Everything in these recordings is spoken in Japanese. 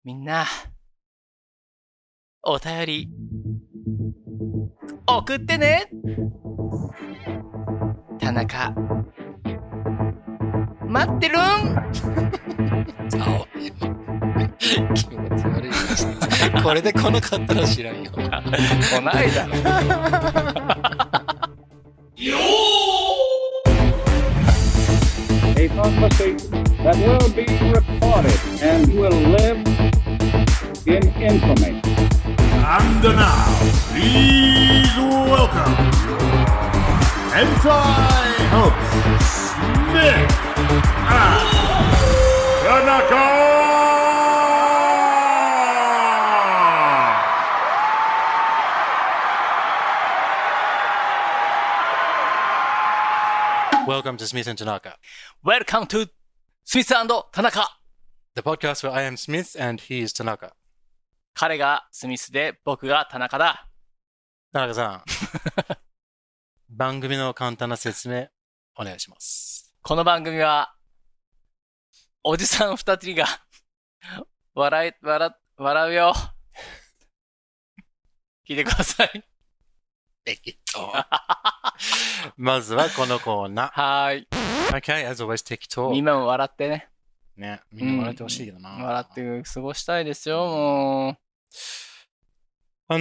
みんな、お便り、送ってね。田中、待ってるん。 気持ち悪いな。これで来なかったら知らんよ。 来ないだろ。 A prophecy that will be recorded and will live in infamy. And now, please welcome anti-host Smith and Tanaka! Welcome to Smith and Tanaka, Welcome to スミス&田中。 the podcast where I am Smith and he is Tanaka. 彼がスミスで僕が田中だ。 田中さん、番組の簡単な説明お願いします。 この番組は、おじさん二人が笑うよ。聞いてください。 まずはこのコーナはーい。 ー。Okay, as always, 適当。 みんなも笑ってね。 ね、みんな笑ってほしいけどな。 笑って過ごしたいですよ、もう。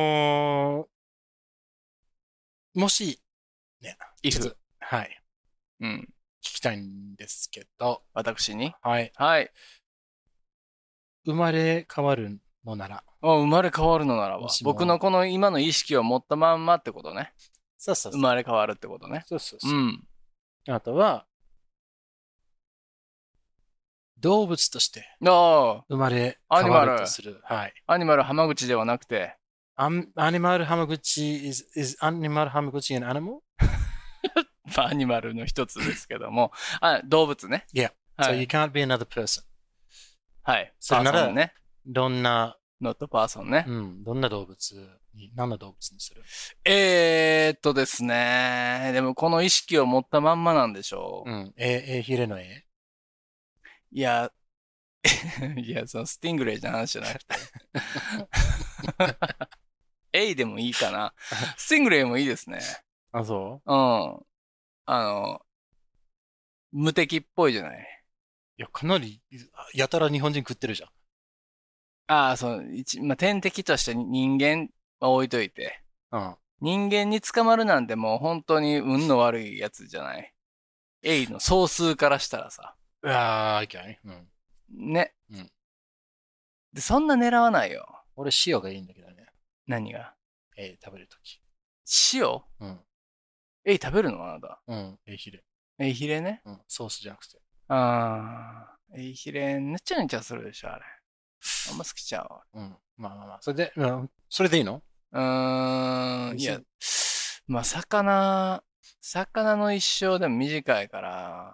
もし、ね、 イちょっとフ。 はい、 うん。 聞きたいんですけど、 私にはい、 はい。 生まれ変わるのなら、 生まれ変わるのならばもし、も僕のこの今の意識を持ったまんまってことね。 そうそうそう。 生まれ変わるってことね。 そうそうそう。 うん。 あとは、動物としてあ生まれアニマル変わるとする。はい。 あ、アニマル浜口ではなくて、 アニマル浜口 is アニマル浜口 an animal? まあアニマルの一つですけども、動物ね。 Yeah. は So you い。 can't be another person. はい。 それならパーソンね。 どんな、 ノットパーソンね。 どんな動物に、何の動物にする？ ですね。でもこの意識を持ったまんまなんでしょう。 ヒレの絵？ いや、いや、そのスティングレイじゃ話じゃなくて。エイでもいいかな。スティングレイもいいですね。 あ、そうう？ ん。無敵っぽいじゃない。 いや、かなり、やたら日本人食ってるじゃん。 そう、まあ、天敵として人間は置いといて。 うん。 人間に捕まるなんてもう本当に運の悪いやつじゃない。エイの総数からしたらさ。 OK。 ね。 うんで、そんな狙わないよ。 俺、塩がいいんだけどね。 何が食べるとき。 塩うん。 エイ食べるのあなた。 ヒレ。 エイヒレね。 ソースじゃなくて。 エイヒレ、ねちゃねちゃするでしょ、あれ。あんま好きちゃう。 まあ。それでいいの？ いや、まあ、魚の一生でも短いから、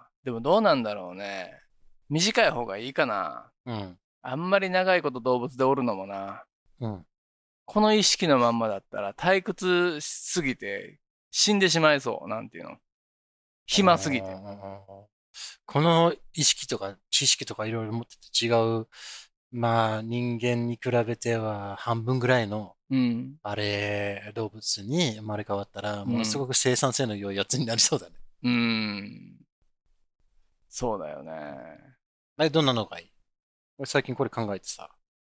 でもどうなんだろうね。短い方がいいかな。あんまり長いこと動物でおるのもな。この意識のまんまだったら退屈しすぎて死んでしまいそう。なんていうの。暇すぎて。 この意識とか知識とかいろいろ持ってて違う、まあ人間に比べては半分ぐらいの、動物に生まれ変わったら、ものすごく生産性の良いやつになりそうだね。 そうだよね。 どんなのがいい？俺最近これ考えてさ。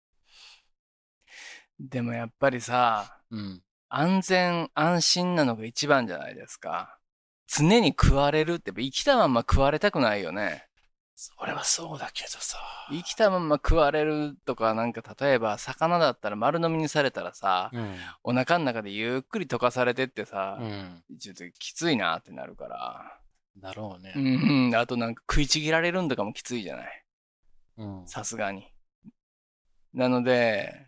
でもやっぱりさ、安全安心なのが一番じゃないですか。常に食われるって生きたまんま食われたくないよね。 それはそうだけどさ。 生きたまんま食われるとか、なんか例えば魚だったら丸飲みにされたらさ、お腹の中でゆっくり溶かされてってさ、ちょっときついなってなるから。 だろうね。 あとなんか食いちぎられるんとかもきついじゃない。さすがに。なので、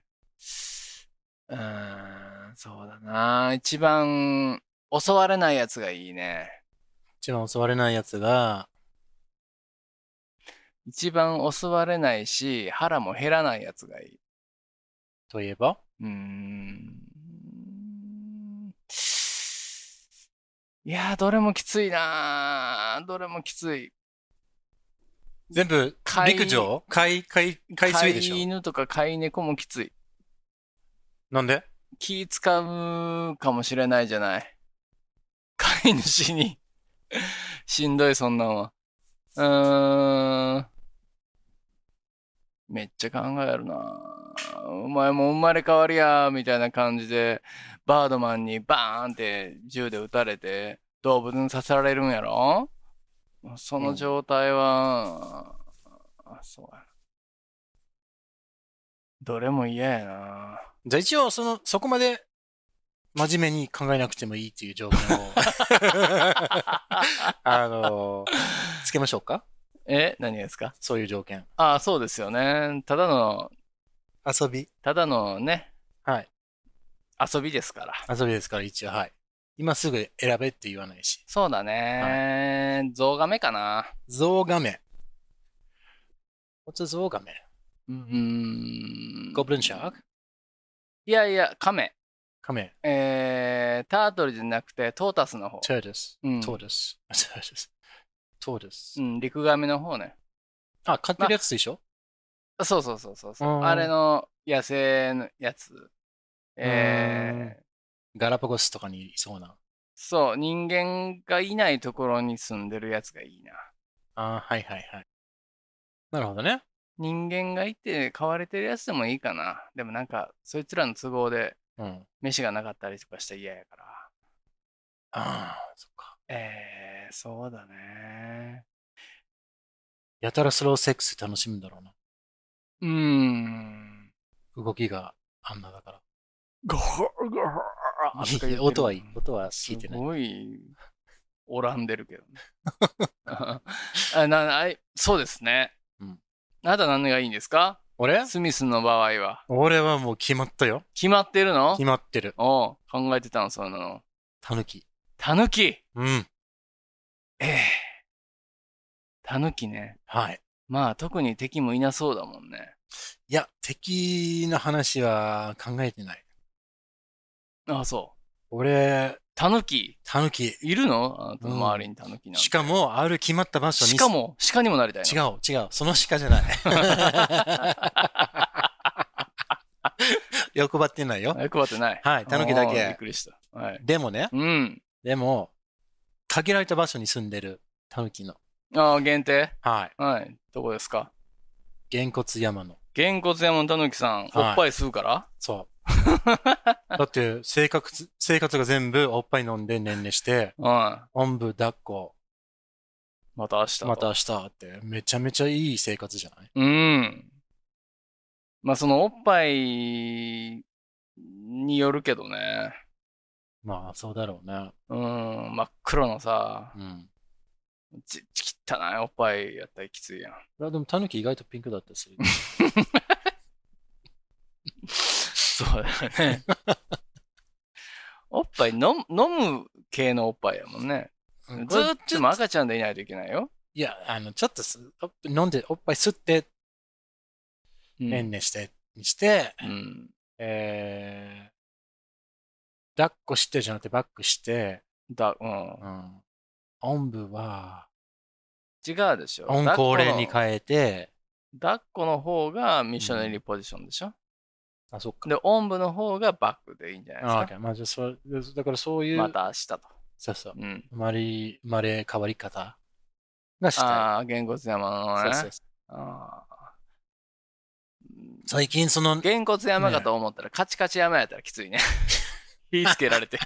そうだな。一番襲われないやつがいいね。 一番襲われないやつが、 一番襲われないし、腹も減らないやつがいい。 といえば？ いやー、どれもきついなー。どれもきつい。 全部、陸上海水でしょ。 飼い犬とか飼い猫もきつい。 なんで？ 気使うかもしれないじゃない。飼い主に。しんどい、そんなんは。めっちゃ考えるな。お前も生まれ変わりや、みたいな感じで、バードマンにバーンって銃で撃たれて、動物に刺されるんやろ？その状態は、そうやな。どれも嫌やな。 じゃあ一応、そこまで真面目に考えなくてもいいっていう条件を、つけましょうか？ 何ですか？ そういう条件。 そうですよね。ただのね、 はい。 遊びですから。 遊びですから、一応、はい。今すぐ選べって言わないし。 そうだね。はい、ゾウガメかな。 ゾウガメ。What's a ゾウガメ？ゴブリンシャーク？ いや、カメ。 カメ。 タートルじゃなくて、トータスの方。 トータス。トータス。 陸ガメの方ね。 飼ってるやつでしょ？ そう。あれの野生のやつ。 ガラパゴスとかにいそうな。 そう、人間がいないところに住んでるやつがいいな。 はい。なるほどね。 人間がいて飼われてるやつでもいいかな。でもなんか、そいつらの都合で、飯がなかったりとかしたら嫌やから。 そっか。 そうだね。 やたらスローセックス楽しむんだろうな。動きがあんなだから。 ゴホゴホ音はいい。音は聞いてない。 すごい、おらんでるけどね。そうですね。あなた何がいいんですか？ 俺？ スミスの場合は。 俺はもう決まったよ。 決まってるの？ 決まってる。 考えてたの、そうなの。 タヌキ。 タヌキ？ タヌキね。 はい。 まあ、特に敵もいなそうだもんね。 いや、敵の話は考えてない。 そう。 俺、 タヌキいるの？あなたの周りにタヌキなんて。 しかも、ある決まった場所に。 しかも、鹿にもなりたいの？ 違う。その鹿じゃない。欲張ってないよ。 欲張ってない。 はい、タヌキだけ。 びっくりした。はい。 でもね。でも、限られた場所に住んでるタヌキの。 限定？ はい。 はい。どこですか？ げんこつ山の。 げんこつ山のタヌキさん、おっぱい吸うから？ そう。だって、生活が全部おっぱい飲んで年齢して、おんぶ抱っこ。 また明日って、めちゃめちゃいい生活じゃない？ まあ、そのおっぱいによるけどね。 まあ、そうだろうね。 真っ黒のさ、汚いおっぱいやったらきついやん。 でも、タヌキ意外とピンクだったりする。 そうだよね。おっぱい飲む系のおっぱいやもんね。ずっと赤ちゃんでいないといけないよ。 いや、ちょっと飲んで、おっぱい吸って、ねんねして、抱っこしてじゃなくてバックして、おんぶは、 違うでしょ。 温厚齢に変えて、 抱っこの方がミッショナリーポジションでしょ。 そっか。 で、おんぶの方がバックでいいんじゃないですか。 まあ、じゃだからそういう。 また明日と。 そう。生まれ変わり方がしたい。 げんこつ山のね。そう。 最近げんこつ山かと思ったら、カチカチ山やったらきついね。火つけられて。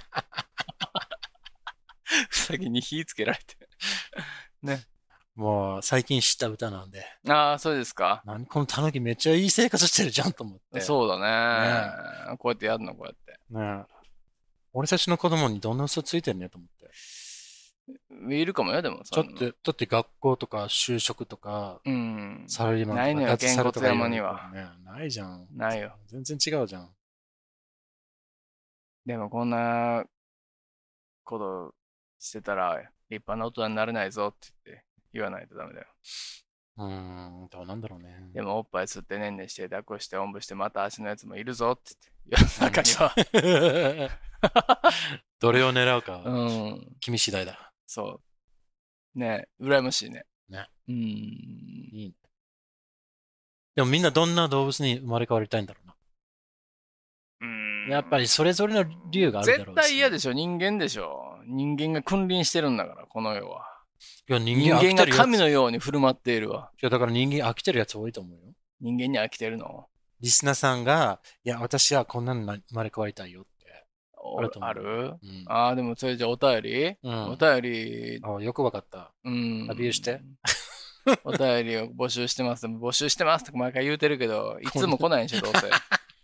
うさぎに火つけられて。ね。 もう最近知った歌なんで。 そうですか。 このタヌキめっちゃいい生活してるじゃんと思って。 そうだね。こうやってやるの、こうやって。 ね。俺たちの子供にどんな嘘ついてんねと思って。 いるかもよ、でも。 だって学校とか就職とか、サラリーマンとか、 ないのよ、げんこつ山には。 ないじゃん。 ないよ。 全然違うじゃん。 でもこんなことしてたら、立派な大人になれないぞって言わないとダメだよ。 どうなんだろうね。 でもおっぱい吸ってねんねして抱っこしておんぶしてまた足のやつもいるぞって言って世の中にはどれを狙うか、君次第だ。 そうねえ、羨ましいね。 ね。 いいね。でもみんなどんな動物に生まれ変わりたいんだろうな。やっぱりそれぞれの理由があるだろうし、 絶対嫌でしょ。人間でしょ。人間が君臨してるんだから、この世は。 いや、人間が神のように振る舞っているわ。 いや、だから人間飽きてるやつ多いと思うよ。 人間に飽きてるの？ リスナーさんが、いや、私はこんなの生まれ変わりたいよって。 ある？ああ、でもそれじゃお便り？お便り。 あ、よくわかった。アピールして。 お便りを募集してます。募集してますって毎回言うてるけど、いつも来ないんでしょ、どうせ。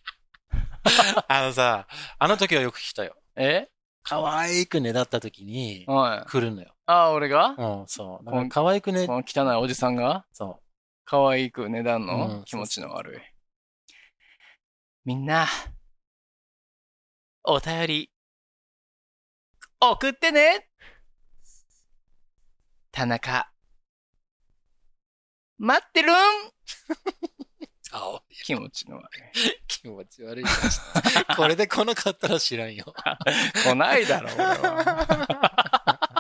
さ、あの時はよく来たよ。可愛くねだった時に、来るのよ。 ああ、俺が？ そう。だから可愛くね。 この汚いおじさんが？ そう。 可愛くねだんの？気持ちの悪い。みんな、お便り、送ってね！田中、待ってるん気持ちの悪い。 気持ち悪い。これで来なかったら知らんよ。 来ないだろ、俺は。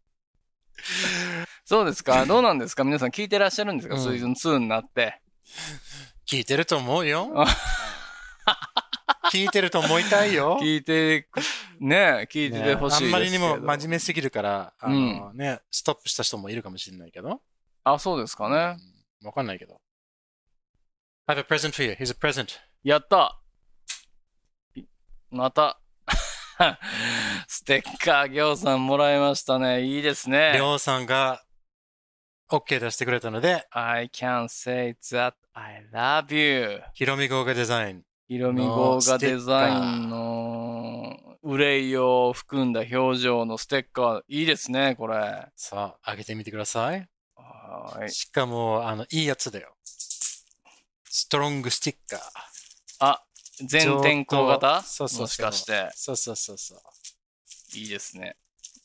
そうですか？どうなんですか？皆さん聞いてらっしゃるんですか？シーズン2になって。 聞いてると思うよ。聞いてると思いたいよ。 聞いててほしいですけど。 あんまりにも真面目すぎるから、ストップした人もいるかもしれないけど。 あ、そうですかね。 わかんないけど。I have a present for you. Here's a present. やったまた。ステッカー、ぎょうさんもらいましたね。いいですね。 りょうさんが OK 出してくれたので。 I can say that I love you. ひろみ号がデザイン。 ひろみ号がデザインの憂いを含んだ表情のステッカー。いいですね、これ。 さあ、開けてみてください。 はい。 しかも、いいやつだよ。ストロングスティッカー。 あ、全天候型？ そうそうそう。 もしかして。 そうそうそうそう。 いいですね。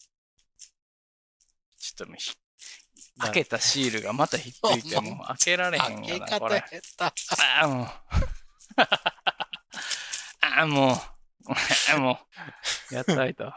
ちょっと開けたシールがまたひっついても開けられへんよな、これ。もう、やったいと。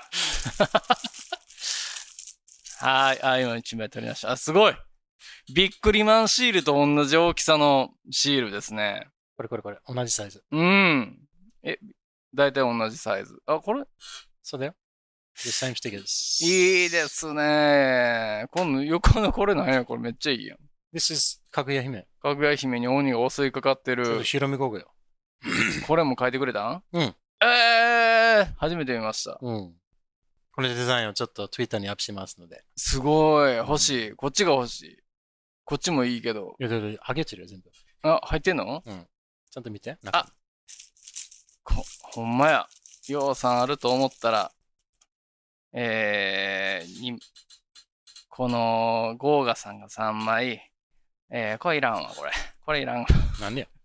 はい、今1枚取りました。あ、すごい！ビックリマンシールと同じ大きさのシールですね。 これ、同じサイズ。 だいたい同じサイズ。あ、これ？ そうだよ。The same stickers. いいですね。今度、横のこれなんや？これめっちゃいいやん。 This is かぐや姫。 かぐや姫に鬼が襲いかかってる。 ひろみ号よ。 これも書いてくれたん？初めて見ました。 このデザインをちょっと Twitter にアップしますので。 すごい。欲しい。こっちが欲しい。こっちもいいけど。 いや、剥げてるよ、全部。 あ、入ってんの？ ちゃんと見て。 あ、ほんまや。ようさんあると思ったら、このゴーガさんが3枚。これいらんわ、これ。これいらんわ。 なんでや。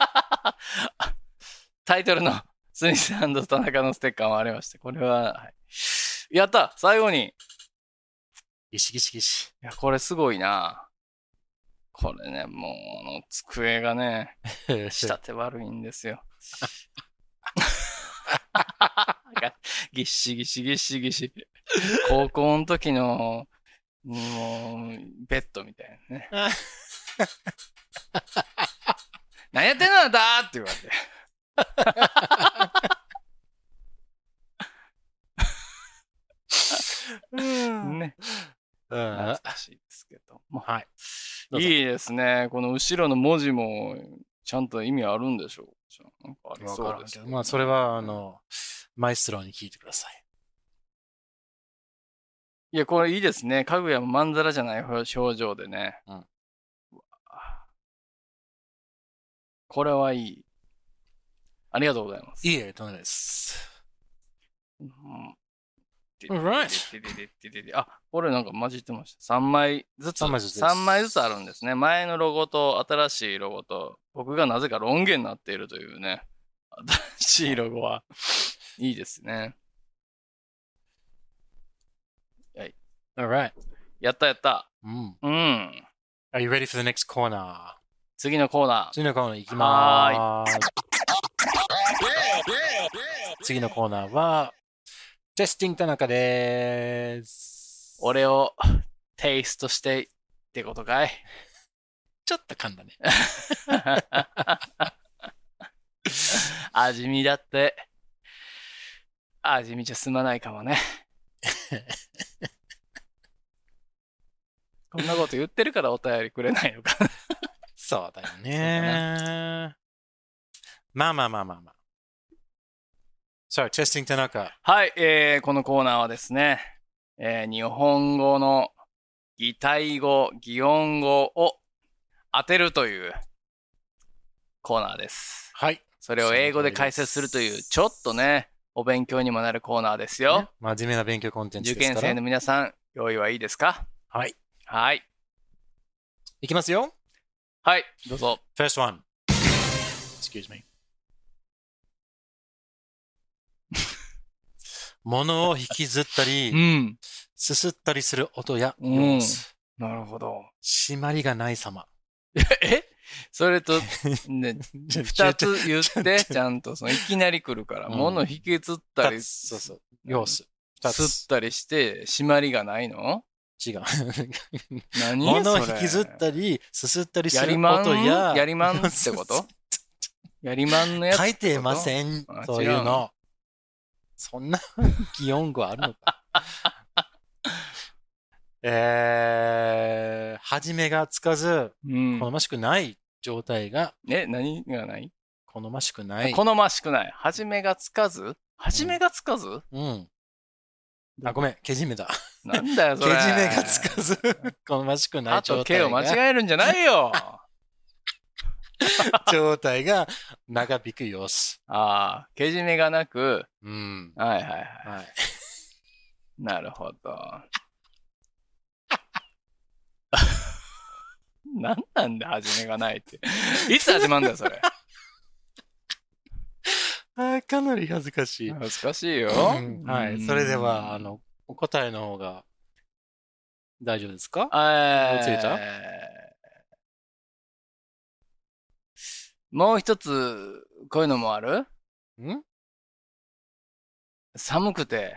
タイトルのスミス&田中のステッカーもありまして、これは、はい、やった最後にギシギシギシ。 いや、これすごいな。これね、もう、机がね、仕立て悪いんですよ。ぎっしぎしぎっしぎし。高校の時の、もう、ベッドみたいなね。何やってんのあんたって言われて。ね。懐かしいですけど。 はい。 いいですね。この後ろの文字もちゃんと意味あるんでしょう。なんかありそうですけど、ね。 まあ、それは、マイストローに聞いてください。 いや、これいいですね。かぐやもまんざらじゃない表情でね。これはいい。ありがとうございます。 いいえ、とんでもないです。 あ、これなんか混じってました。3枚ずつあるんですね。前のロゴと新しいロゴと、僕がなぜかロン毛になっているというね。新しいロゴは、いいですね。はい。 Alright. やった。 Are you ready for the next corner? 次のコーナー行きまーす。次のコーナーは、テスティング田中でーす。 俺をテイストしていっってことかい。 ちょっと噛んだね。 味見だって。味見じゃ済まないかもね。こんなこと言ってるからお便りくれないのか。 そうだよね。まあ。So, testing 田中。 はい、このコーナーはですね、日本語の擬態語、擬音語を当てるというコーナーです。 はい。 それを英語で解説するという、ちょっとね、お勉強にもなるコーナーですよ。ね、 真面目な勉強コンテンツですから。 受験生の皆さん、用意はいいですか？ はい。 はい。 いきますよ。 はい、どうぞ。 First one. Excuse me. 物を引きずったり、すすったりする音や様子。 なるほど。 締まりがない様。 それと、ね、二つ言って、ちゃんと、いきなり来るから、物引きずったり、 そう。様子。 すったりして、締まりがないの？ 違う。 何？ 物を引きずったり、すすったりする音や。 やりまんってこと？やりまんのやつ。 書いてません。そういうの。そんな擬音語あるのか。始めがつかず、好ましくない状態が。 何がない？ 好ましくない。 好ましくない。始めがつかず？始めがつかず？ あ、ごめん。けじめだ。 なんだよ、それ。 けじめがつかず、好ましくない状態が。 あと、けを間違えるんじゃないよ。 状態が長引く様子。 ああ、けじめがなく。はい。なるほど。なんで始めがないって。いつ始まるんだよ、それ。 かなり恥ずかしい。 恥ずかしいよ。 はい。それでは、お答えの方が大丈夫ですか？ついた？ もう一つ、こういうのもある？寒くて、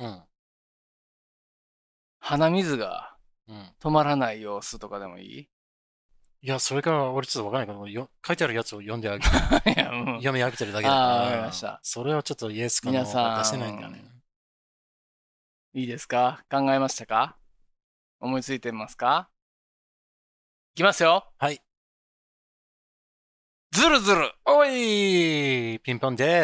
鼻水が止まらない様子とかでもいい？ いや、それから俺ちょっとわからないけど、書いてあるやつを読んであげる。読み上げてるだけだから。 わかりました。 それはちょっとイエスかノーか出せないんだよね。 いいですか？考えましたか？思いついてますか？いきますよ。 はい。 ずるずる。 おいピンポンです。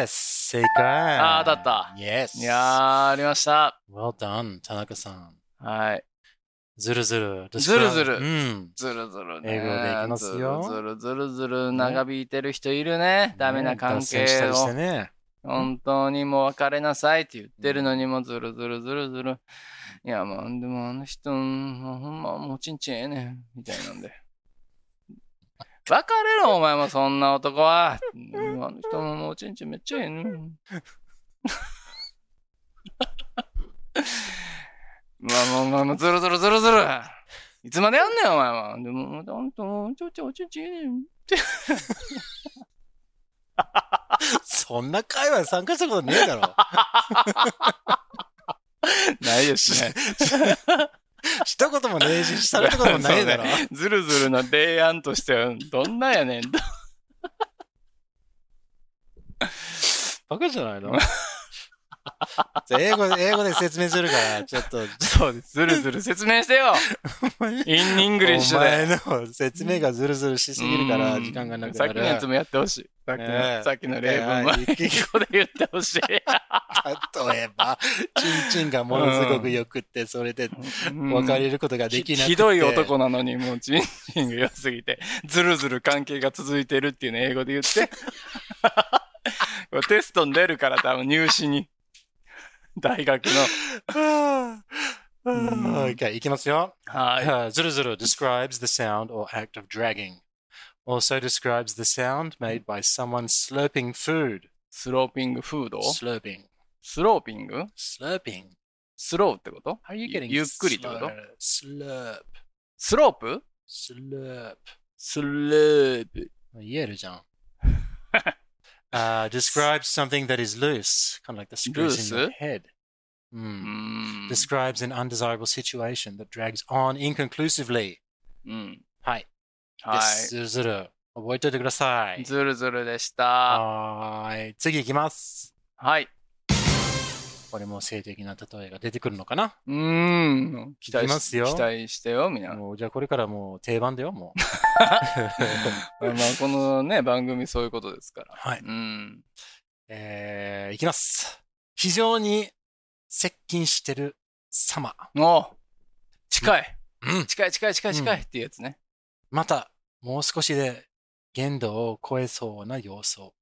正解。 当たった。 Yes。 いやー、ありました。 Well done、田中さん。 はい。 ずるずる。 ずるずる。ずるずるね。 英語でいきますよ。 ずるずるずる長引いてる人いるね。ダメな関係を。本当にもう別れなさいって言ってるのにもずるずるずるずる。いや、もう、でもあの人、ほんまもうちんちんええねん。みたいなんで。別れろ、お前もそんな男は。あの人ももうちんちんめっちゃええねん。もうずるずるずるずる。いつまでやんねん、お前は。でも、ほんと、おちんちんええねん。 そんな会話に参加したことねえだろ。 ないですね。 したこともねえし、したこともないだろ。 ずるずるの提案としては、どんなやねんと。 バカじゃないの？英語で説明するから、ちょっと。 そうです。ずるずる説明してよ。インイングリッシュで。 お前の説明がずるずるしすぎるから、時間がなくなる。 さっきのやつもやってほしい。さっきの例文も英語で言ってほしい。 例えば、チンチンがものすごく良くって、それで別れることができなくて。 ひどい男なのに、もうチンチンが良すぎて、ずるずる関係が続いてるっていうのを英語で言って。テストに出るから多分入試に。大学の。 Okay, いきますよ。 はい。 ずるずる describes the sound or act of dragging. Also describes the sound made by someone slurping food. スローピングフード？ Slurping. スローピング？ Slurping. スローってこと？ How are you getting ゆっくりってこと？ Slurp. スロープ？ Slurp. スロープ。 言えるじゃん。Describes something that is loose, kind of like the screws in your head. Describes an undesirable situation that drags on inconclusively. うん。 はい。 はい。 ずるずる。覚えておいてください。 ずるずるでした。 はい。次行きます。 はい。 これも性的な例えが出てくるのかな？ 期待してよ、みんな。 もうじゃあこれからもう定番だよ、もう。 まあこのね、番組そういうことですから。 はい。いきます。非常に接近してる様。 近い。近いっていうやつね。 また、もう少しで限度を超えそうな様子に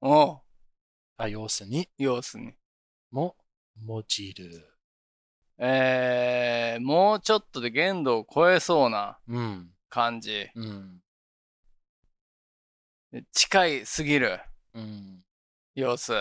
も用いる。 もうちょっとで限度を超えそうな感じ。近いすぎる様子。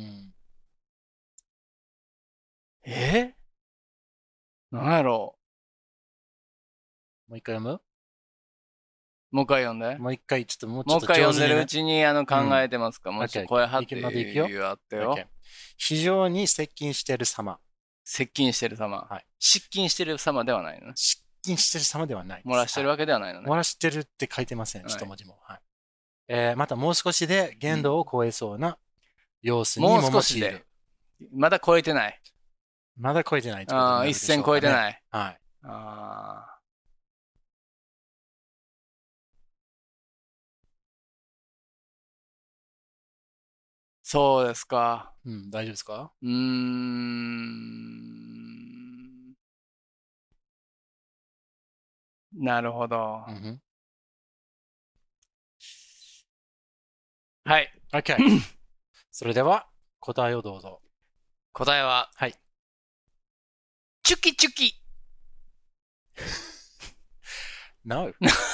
なんやろう。もう一回読む？ もう一回読んで。 もう一回読んでるうちに考えてますか？もうちょっと声張って言うあってよ。 非常に接近してる様。 接近してる様。はい。失近してる様ではないのね。 失近してる様ではない。 漏らしてるわけではないのね。 漏らしてるって書いてません、一文字も。はい。またもう少しで限度を超えそうな様子にも用いる。もう少しで。 まだ超えてない。 まだ超えてない。 一線超えてない。 はい。 そうですか。 大丈夫ですか？ なるほど。はい。 OK。それでは、答えをどうぞ。 答えは、 はい。 チュキチュキ。 No。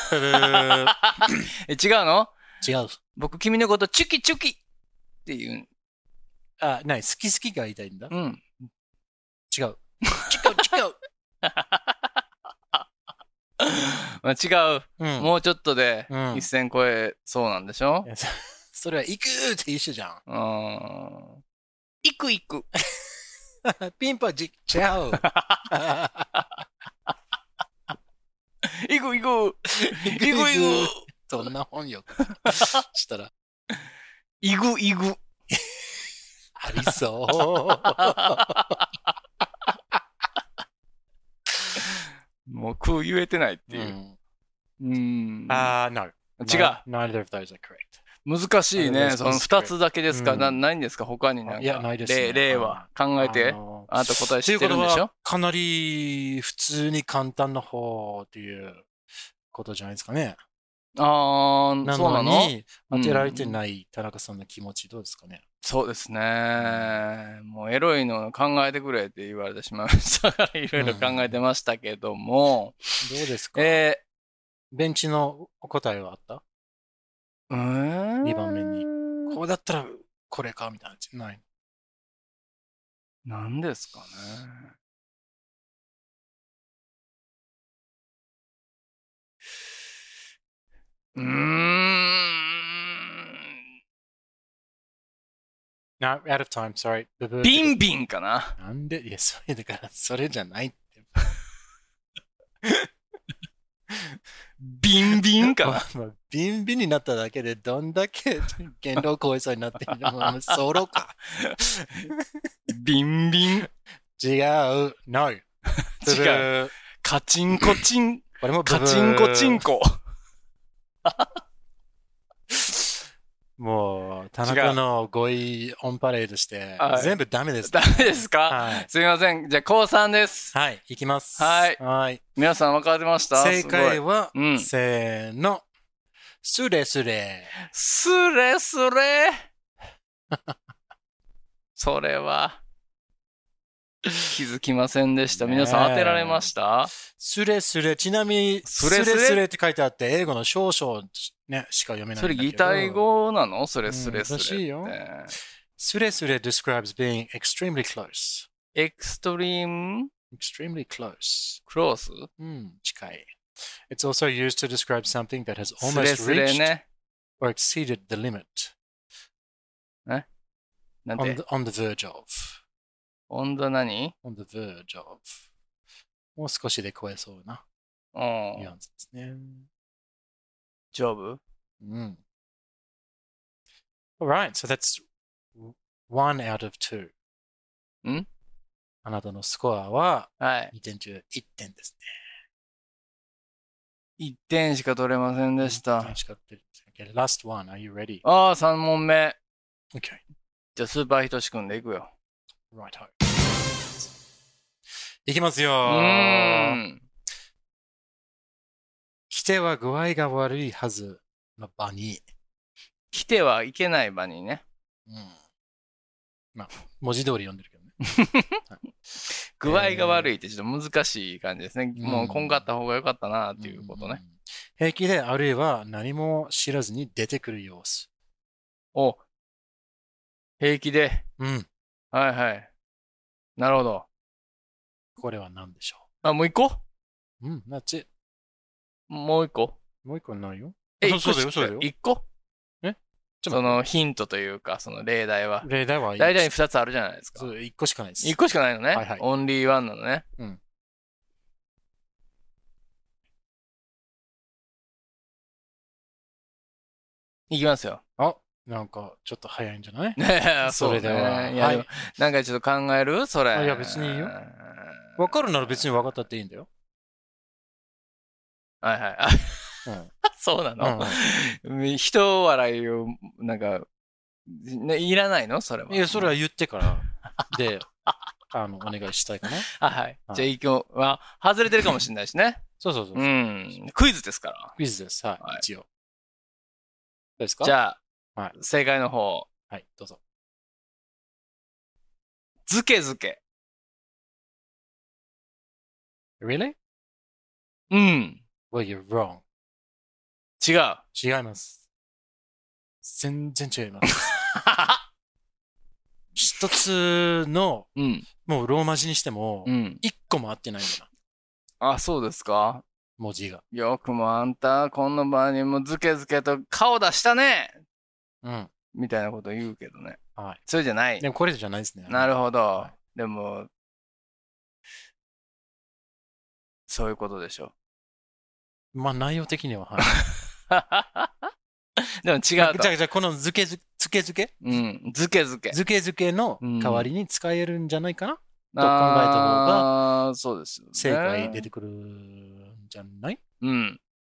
違うの？ 違う。 僕、君のことチュキチュキって言う。 好き好きが言いたいんだ。違う。 違う。もうちょっとで一線超えそうなんでしょ？ それは行くって一緒じゃん。 行く。 ピンポン違う。 行く。 そんな本よ。したら。 行く。 ありそう。 もう空言えてないっていう。 No。 違う。 Neither of those are correct. 難しいね。その2つだけですか？ないんですか？他にいや、ないですね。 例は考えて。あなた答え知ってるんでしょ？ かなり普通に簡単な方っていうことじゃないですかね。そうなのに当てられてない田中さんの気持ちどうですかね？ そうですね。もうエロいの考えてくれって言われてしまいましたから、いろいろ考えてましたけども。 どうですか？ベンチの答えはあった？2番目に。こうだったらこれかみたいな。ない。 何ですかね。 No, out of time, sorry. ビンビンかな。 なんで？いや、それだから、それじゃないって。 ビンビンかな。 ビンビンになっただけでどんだけ限度を超えそうになっているの？ソロか。 ビンビン。 違う。No。違う。カチンコチン。これもカチンコチンコ。 もう、田中の語彙オンパレードして、全部ダメです。 ダメですか？はい。すみません。じゃあ、高3です。 はい、いきます。 はい。皆さん分かりました？ 正解は、せーの。スレスレ。 スレスレそれは、気づきませんでした。皆さん当てられました？ スレスレ。ちなみに、スレスレって書いてあって、英語の少々ね、しか読めないんだけど。 それ擬態語なの？それスレスレって。 らしいよ。スレスレ describes being extremely close. extremely close. close? 近い。It's also used to describe something that has almost reached or exceeded the limit. なんて on the verge of. on the 何？ on the verge of. もう少しで超えそうな。ニュアンスですね。 丈夫？ うん。Alright, so that's 1 out of 2. ん？ あなたのスコアははい。 2点中1点ですね。1点しか取れませんでした。1点しか取れません。Okay, last one. Are you ready? ああ、3問目。 Okay. じゃあ、スーパーひとしくんでいくよ。 Right. いきますよ。来ては具合が悪いはずの場に。 来てはいけない場にね。 うん。まあ、文字通り読んでるけどね。 具合が悪いってちょっと難しい感じですね。もうこんかった方が良かったなっていうことね。 平気であるいは何も知らずに出てくる様子。 お、平気で。 うん。 はいはい。なるほど。 これは何でしょう？あ、もう一個？ うん、that's it。 もう一個？ もう一個ないよ。 そうだよ、そうだよ。一個？そのヒントというか、その例題は。 例題は大体2つあるじゃないですか。 そう、1個しかないです。 1個しかないのね。 はいはい。 オンリーワンなのね。 うん。 いきますよ。 あ、なんかちょっと早いんじゃない？ それでは。はい。なんかちょっと考える？それ。 いや、別にいいよ。わかるなら別に分かったっていいんだよ。 はいはい。うん、そうなの、うん、人笑いを、なんか、ね、いらないのそれは。 いや、それは言ってから、で、お願いしたいかな。 はい。じゃあ、今日は、外れてるかもしれないしね。 そう。 うん。クイズですから。 クイズです。はい。一応。どうですか？ じゃあ、正解の方。 はい、どうぞ。 ずけずけ。 Really? うん。 Well, you're wrong. 違います。全然違います。一つの、もうローマ字にしても、一個も合ってないんだな。あ、そうですか？ 文字が。 よくもあんた、この場にもずけずけと顔出したね。 うん。 みたいなこと言うけどね。 はい。 それじゃない。 でもこれじゃないですね。 なるほど。はい、でも、そういうことでしょう。まあ内容的には、はい。 でも違うと。 じゃあこのずけずけうん。ずけずけ。 ずけずけの代わりに使えるんじゃないかな、と考えた方が、 そうですよね。 正解出てくるんじゃない？ うん。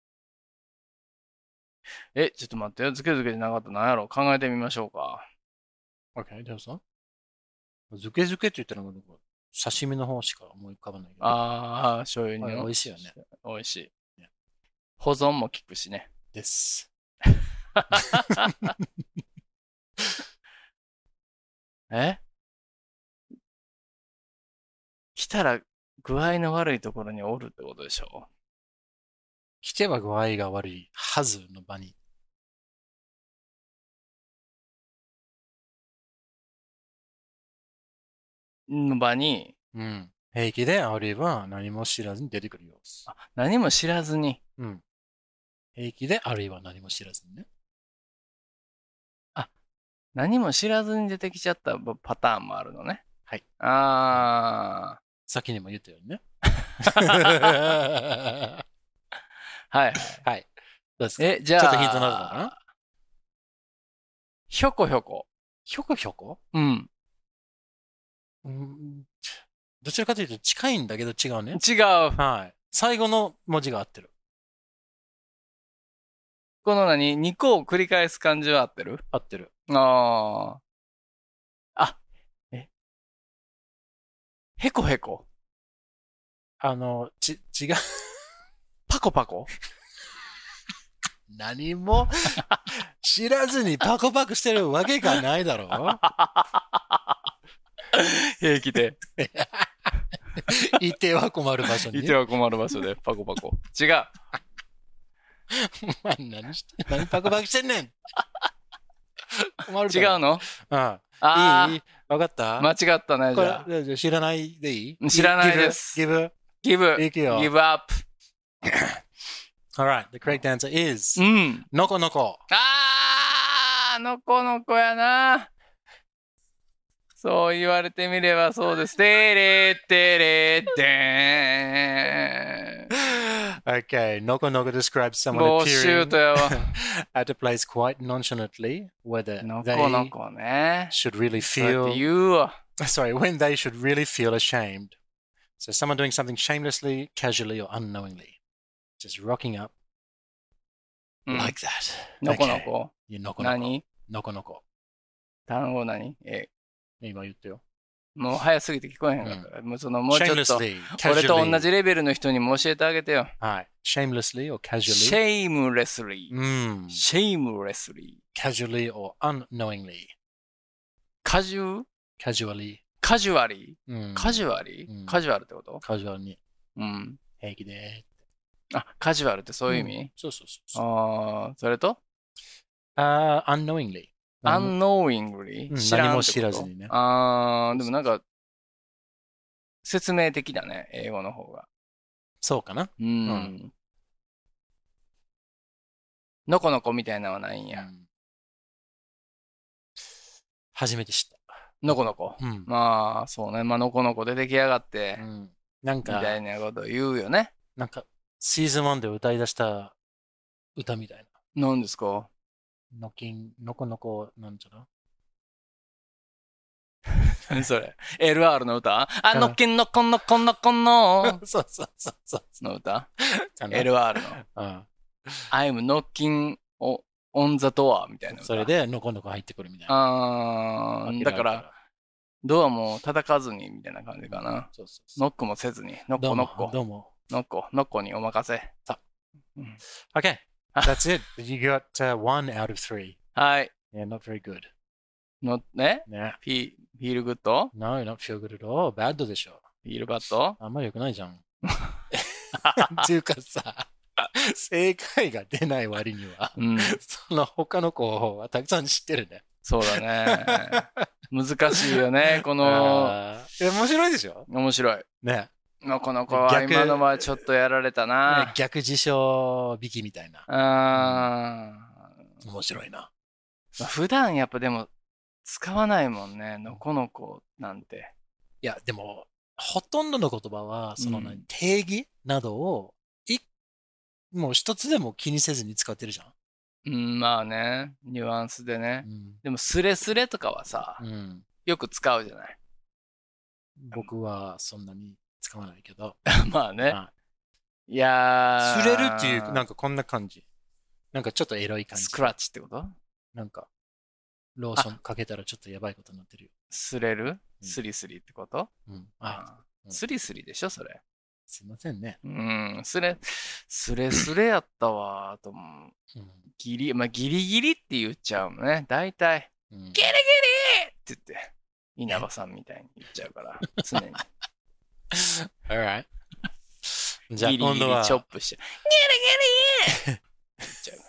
ちょっと待ってよ。ずけずけじゃなかったら何やろう？考えてみましょうか。 OK、じゃあさ。ずけずけって言ったら、刺身の方しか思い浮かばないけど。 ああ、醤油に。 美味しいよね。 美味しい。保存も効くしね。 です。 来たら具合の悪いところにおるってことでしょ？ 来ては具合が悪いはずの場に。 の場に。 うん。平気であるいは何も知らずに出てくる様子。 何も知らずに。 うん。平気であるいは何も知らずにね。 何も知らずに出てきちゃったパターンもあるのね。 はい。先にも言ったようにね。 はい。 はい。どうですか？ じゃあ、 ちょっとヒントになるのかな？ ひょこひょこ。 ひょこひょこ？ うん。 どちらかというと近いんだけど違うね。 違う。 はい。最後の文字が合ってる。 この2個を繰り返す感じは合ってる？ 合ってる。 へこへこ。 違う。 パコパコ？ 何も知らずにパコパコしてるわけがないだろう。 平気で。 いては困る場所に。 いては困る場所でパコパコ。違う。 何パコパコしてんねん。 困る。違うの？ いい？わかった？ 間違ったね、じゃあ。知らないでいい？ 知らないです。 give up. Alright, the correct answer is のこのこ。 のこのこやな。 そう言われてみればそうです。てれてれでーん。 Okay, Noko Noko describes someone ボシュー appearing トやわ。 at a place quite nonchalantly, whether の they このこね。 should really そうやって feel, 言うわ。 sorry, when they should really feel ashamed. So someone doing something shamelessly, casually, or unknowingly. Just rocking up うん like that. のこの Okay. こ。 You Noko Noko. 何 Noko Noko. 単語何今言ったよ。 もう早すぎて聞こえへんかったから。もうその、もうちょっと、 shamelessly, 俺と同 casually. じレベルの人にも教えてあげてよ。 はい。shamelessly or casually. shamelessly. Mm. shamelessly. Casually or unknowingly. カジュ Casually. カジュアリうんカジュアリうんカジュアルってことカジュアルにうん。 平気であ、カジュアルってそういう意味そうそうそう。 ああ、それと unknowingly. unknowingly うん知らんってこと何も知らずにねああ、でもなんか、説明的だね、英語の方が。 そうかな。 うん。のこのこみたいなのはないんや。 うん初めて知った。 のこのこ。 うんまあ、そうね。まあ、のこのこで出来上がって、 なんみたか、 いなこと言うよね。 シーズン1で歌い出した歌みたいな。 何ですかのこのこなんちゃら何それ ?LR の歌あ、のっけんのこのこのこのそうそうそうそう。 の歌かな ?LR の。 うん I'm knocking on the door みたいな歌。 それで、のこのこ入ってくるみたいな。 あー、だから、ドアも叩かずにみたいな感じかな。 そうそうそう。 ノックもせずに。ノッどうもコノッコ。 どうも。 ノッコにお任せ。 Okay, that's it. You got 1 out of 3. はい。 Yeah, not very good. ね Yeah. フィールグッド No, not feel good at all. Bad でしょ。 フィールバッドあんまり良くないじゃん。っていうかさ、正解が出ない割には、 うん。 その他の子はたくさん知ってるね。 そうだね。難しいよね。この、 面白いでしょ面白い。 ね。 のこの子は今のはちょっとやられたな。 逆辞書引きみたいな。面白いな。 普段やっぱでも使わないもんね。のこの子なんて。 いや、でも、ほとんどの言葉は、その定義などを、もう一つでも気にせずに使ってるじゃん。 うん、まあね。ニュアンスでね。でもスレスレとかはさ、よく使うじゃない。 僕はそんなに使わないけど。 まあね。いやー。 すれるっていう、なんかこんな感じ。なんかちょっとエロい感じ。 スクラッチってことなんか、ローションかけたらちょっとやばいことになってるよ。 すれるスリスリってことあ、 スリスリでしょそれ。 すいませんね。 スレスレやったわ。あと、ギリギリって言っちゃうのね。大体、ギリギリって言って、稲葉さんみたいに言っちゃうから、常に。 Alright. じゃあ今度は。 ギリギリチョップしちゃう。ギリギリって言っちゃう。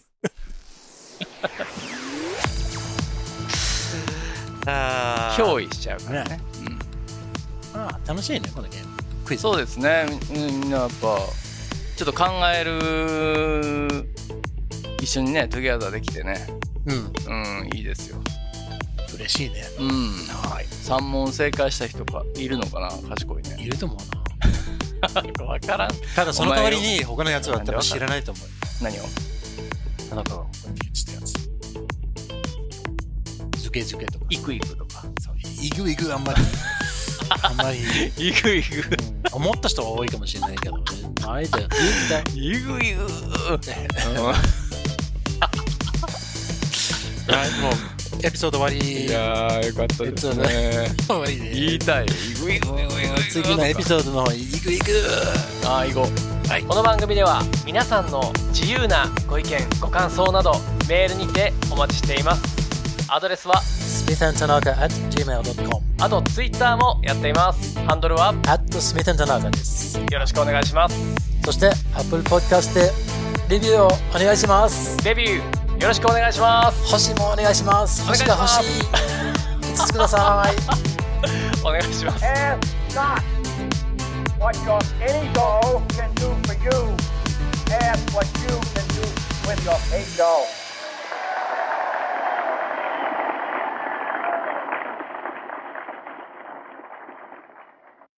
憑依しちゃうからね。 楽しいね、このゲーム。クイズ。 そうですね。みんなやっぱ、ちょっと考える、一緒にね、トゥギャザーできてね。いいですよ。 嬉しいね。 はい。3問正解した人がいるのかな賢いね。 いると思うな。わからん。 ただその代わりに他のやつは多分知らないと思う。 何をあなたがここに言ってたやつ。ズケズケとか。 イクイクとか。 イグイグあんまり。あんまり。 イグイグ。 思った人は多いかもしれないけど、あえて言った。 イグイグ。 もうエピソード終わり。 いやーよかったですね。 終わりで。 言いたい。イグイグ。 次のエピソードの方イグイグ。 行こう。はい。この番組では皆さんの自由なご意見ご感想などメールにてお待ちしています。アドレスは smithandtanaka@gmail.com。 あとツイッターもやっています。ハンドルは @smithandtanaka です。 よろしくお願いします。 そして Apple Podcast でレビューをお願いします。 レビューよろしくお願いします。 星もお願いします。星が欲しい。5つください。 お願いします。 Ask not what your any goal